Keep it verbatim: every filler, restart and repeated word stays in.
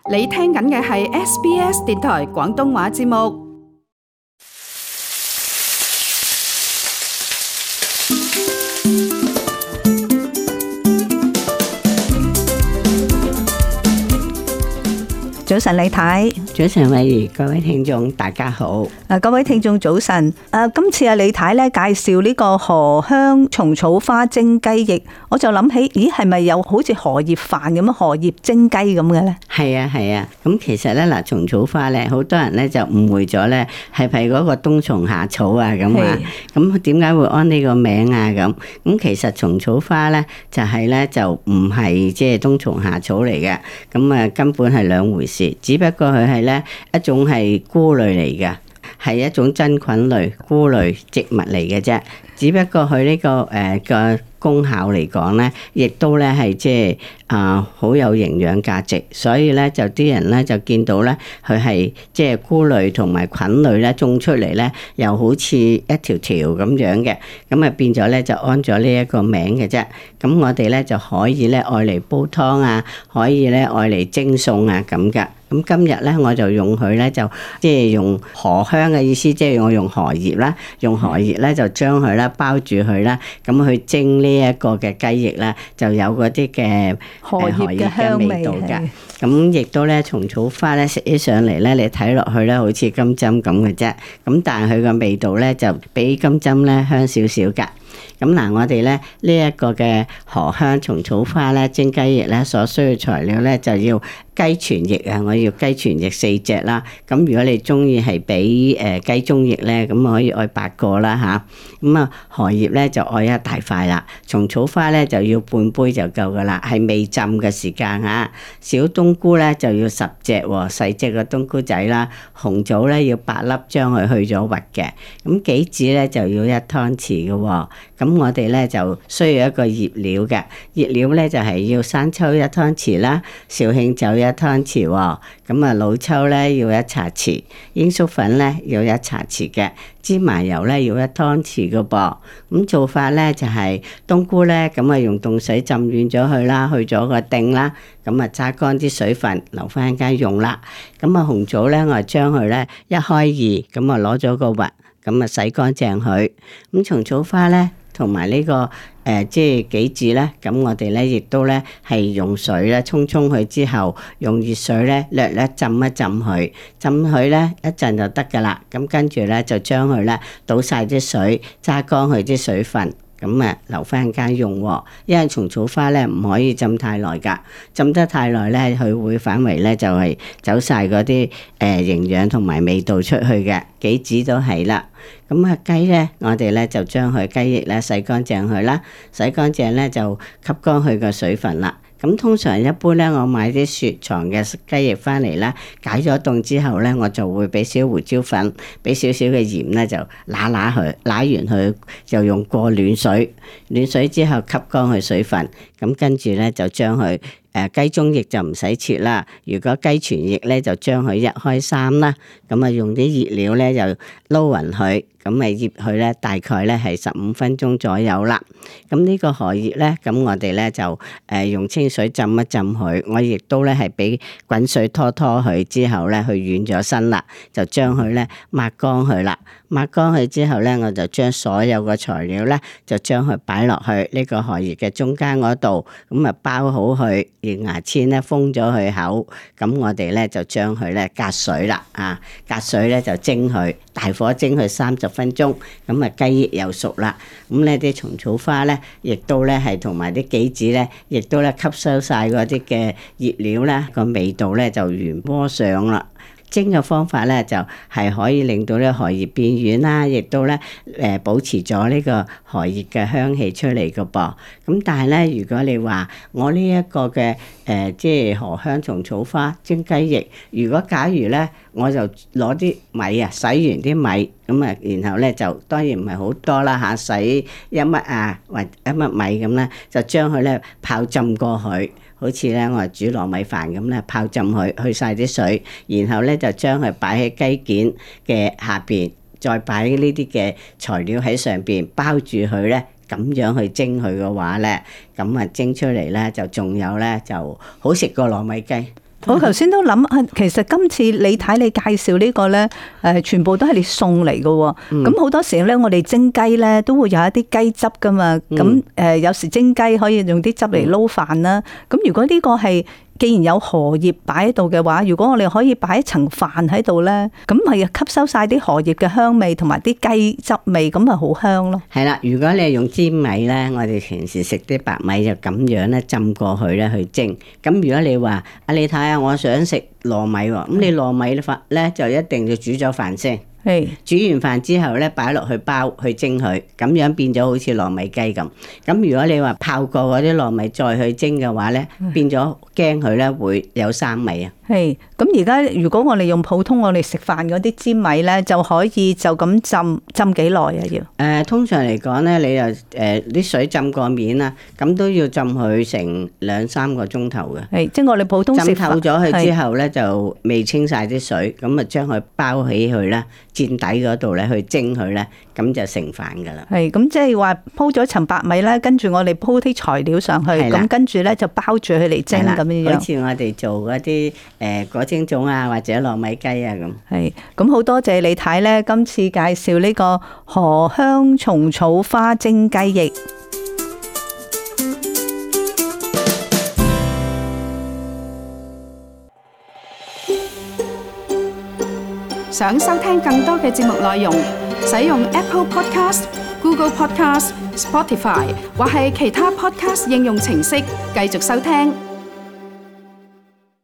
你聽緊嘅係 S B S 電台廣東話節目。 早晨李太， 早晨慧怡，各位聽眾大家好。 誒，各位聽眾早晨。誒，今次阿李太咧介紹呢個荷香蟲草花蒸雞翼，我就諗起，咦，係咪有好似荷葉飯咁樣荷葉蒸雞咁嘅咧？ 係啊係啊，咁其實咧嗱，蟲草花咧，好多人咧就誤會咗咧，係咪嗰個冬蟲夏草啊咁啊？咁點解會安呢個名啊？咁咁其實蟲草花咧就係咧就唔係即係冬蟲夏草嚟嘅，咁啊根本係兩回事。只不過佢係咧一種係菇類嚟嘅，係一種真菌類菇類植物嚟嘅啫。只不過佢呢、這個誒、呃、個功效嚟講咧，亦都咧係即係啊好有營養價值，所以咧就啲人咧就見到咧佢係即係菇類同埋菌類咧種出嚟咧，又好似一條條咁樣嘅，咁啊變咗咧就安咗呢一個名嘅啫。咁我哋咧就可以咧愛嚟煲湯啊，可以咧愛嚟蒸餸啊咁噶。咁今日咧我就用佢咧就即係用荷香嘅意思，即係我用荷葉啦，用荷葉咧就將佢咧包住佢啦，咁去蒸呢一個嘅雞翼啦，就有嗰啲嘅荷葉嘅香味道㗎。咁亦都咧蟲草花咧食起上嚟咧，你睇落去咧好似金針咁嘅啫，咁但係佢個味道咧就比金針咧香少少㗎。咁嗱，我哋咧呢一個嘅荷香蟲草花咧蒸雞翼咧所需嘅材料咧就要雞全翼啊，我要雞全翼四隻啦。咁如果你中意係俾誒雞中翼咧，咁可以愛八個啦吓。咁啊荷葉咧就愛一大塊啦，蟲草花咧就要半杯就夠噶啦，係未浸嘅時間吓。小冬菇咧就要十隻喎，細隻嘅冬菇仔啦。紅棗咧要八粒，將佢去咗核嘅。咁杞子咧就要一湯匙嘅喎。咁我哋咧就需要一個醃料嘅，醃料咧就係要生抽一湯匙啦，紹興酒一湯匙喎，咁啊老抽咧要一茶匙，鷹粟粉咧要一茶匙嘅，芝麻油咧要一湯匙嘅噃。咁做法咧就係冬菇咧，咁啊用凍水浸軟咗佢啦，去咗個頂啦，咁啊揸乾啲水分，留翻間用啦。咁啊紅棗咧，我係將佢咧一開二，咁啊攞咗個核，咁啊洗乾淨佢。咁蟲草花咧。同埋呢個誒、呃，即係杞子咧，咁我哋咧亦都咧係用水咧沖沖佢之後，用熱水咧略略浸一浸佢，浸佢咧一陣就得噶啦。咁跟住咧就將佢咧倒晒啲水，揸乾佢啲水分。咁啊，留翻間用喎，因為蟲草花咧唔可以浸太耐㗎，浸得太耐咧，佢會反為咧就係走晒嗰啲誒營養同埋味道出去嘅，杞子都係啦。咁啊雞咧，我哋咧就將佢雞翼咧洗乾淨佢啦，洗乾淨咧就吸乾佢個水分啦。咁通常一般咧，我買啲雪藏嘅雞翼翻嚟啦，解咗凍之後咧，我就會俾少胡椒粉，俾少少嘅鹽咧，就揦揦佢，揦完佢就用過暖水，暖水之後吸乾佢水分，咁跟住咧就將佢誒雞中翼就唔使切啦，如果雞全翼咧就將佢一開三啦，咁啊用啲熱料咧就撈勻佢。咁咪醃佢咧，大概咧係十五分鐘左右啦。咁呢個荷葉咧，咁我哋咧就誒用清水浸一浸佢。我亦都咧係俾滾水拖拖佢之後咧，佢軟咗身啦，就將佢咧抹乾佢啦。抹乾佢之後咧，我就將所有嘅材料咧，就將佢擺落去呢個荷葉嘅中間嗰度，咁啊包好佢，用牙籤咧封咗佢口。咁我哋咧就將佢咧隔水啦，啊隔水咧就蒸佢，大火蒸佢三十分鐘，咁啊雞翼又熟啦。咁呢啲蟲草花咧，亦都咧係同埋啲杞子咧，亦都咧吸收晒嗰啲嘅熱料咧，個味道咧就原鍋上啦。蒸嘅方法咧就係、是、可以令到呢荷葉變軟啦，亦都咧誒保持咗呢個荷葉嘅香氣出嚟嘅噃。咁但係咧，如果你話我呢一個嘅誒、呃、即係荷香蟲草花蒸雞翼，如果假如咧我就攞啲米啊，洗完啲米咁啊，然後咧就當然唔係好多啦嚇，洗一乜啊或一乜米咁咧，就將佢咧泡浸過去。好似咧，我係煮糯米飯咁咧，泡浸佢，去晒啲水，然後咧就將佢擺喺雞件嘅下邊，再擺呢啲嘅材料喺上邊包住佢咧，咁樣去蒸佢嘅話咧，咁啊蒸出嚟咧就仲有咧就好食過糯米雞。 我頭先都諗啊，其實今次李太你介紹呢個咧，誒全部都係你送嚟嘅喎。咁好多時咧，我哋蒸雞咧都會有一啲雞汁噶嘛。咁誒有時蒸雞可以用啲汁嚟撈飯啦。咁如果呢個係既然有荷葉擺喺度嘅話，如果我哋可以擺一層飯喺度咧，咁咪吸收晒啲荷葉嘅香味同埋啲雞汁味，咁咪好香咯。 係啦，如果你係用粘米咧，我哋平時食啲白米就咁樣咧浸過去咧去蒸。咁如果你話啊，你睇下我想食糯米喎，咁你糯米飯咧就一定要煮咗飯先。 係煮完飯之後咧，擺落去包去蒸佢，咁樣變咗好似糯米雞咁。咁如果你話泡過嗰啲糯米再去蒸嘅話咧，變咗驚佢咧會有生味啊。 係咁而家如果我哋用普通我哋食飯嗰啲粘米咧，就可以就咁浸浸幾耐啊？要誒、 呃、通常嚟講咧，你又誒啲水浸過面啦，咁都要浸佢成兩三個鐘頭嘅。 係即係我哋普通食浸透咗佢之後咧，就未清晒啲水，咁啊將佢包起佢啦，墊底嗰度咧去蒸佢咧，咁就成飯噶啦。 係咁即係話鋪咗層白米咧，跟住我哋鋪啲材料上去，咁跟住咧就包住佢嚟蒸咁樣樣。 好似我哋做嗰啲誒果蒸粽啊，或者糯米雞啊咁。 係咁好多謝李太咧，今次介紹呢個荷香蟲草花蒸雞翼。 想收聽更多嘅節目內容，使用 Apple Podcast、Google Podcast、Spotify 或係其他 Podcast 應用程式繼續收聽。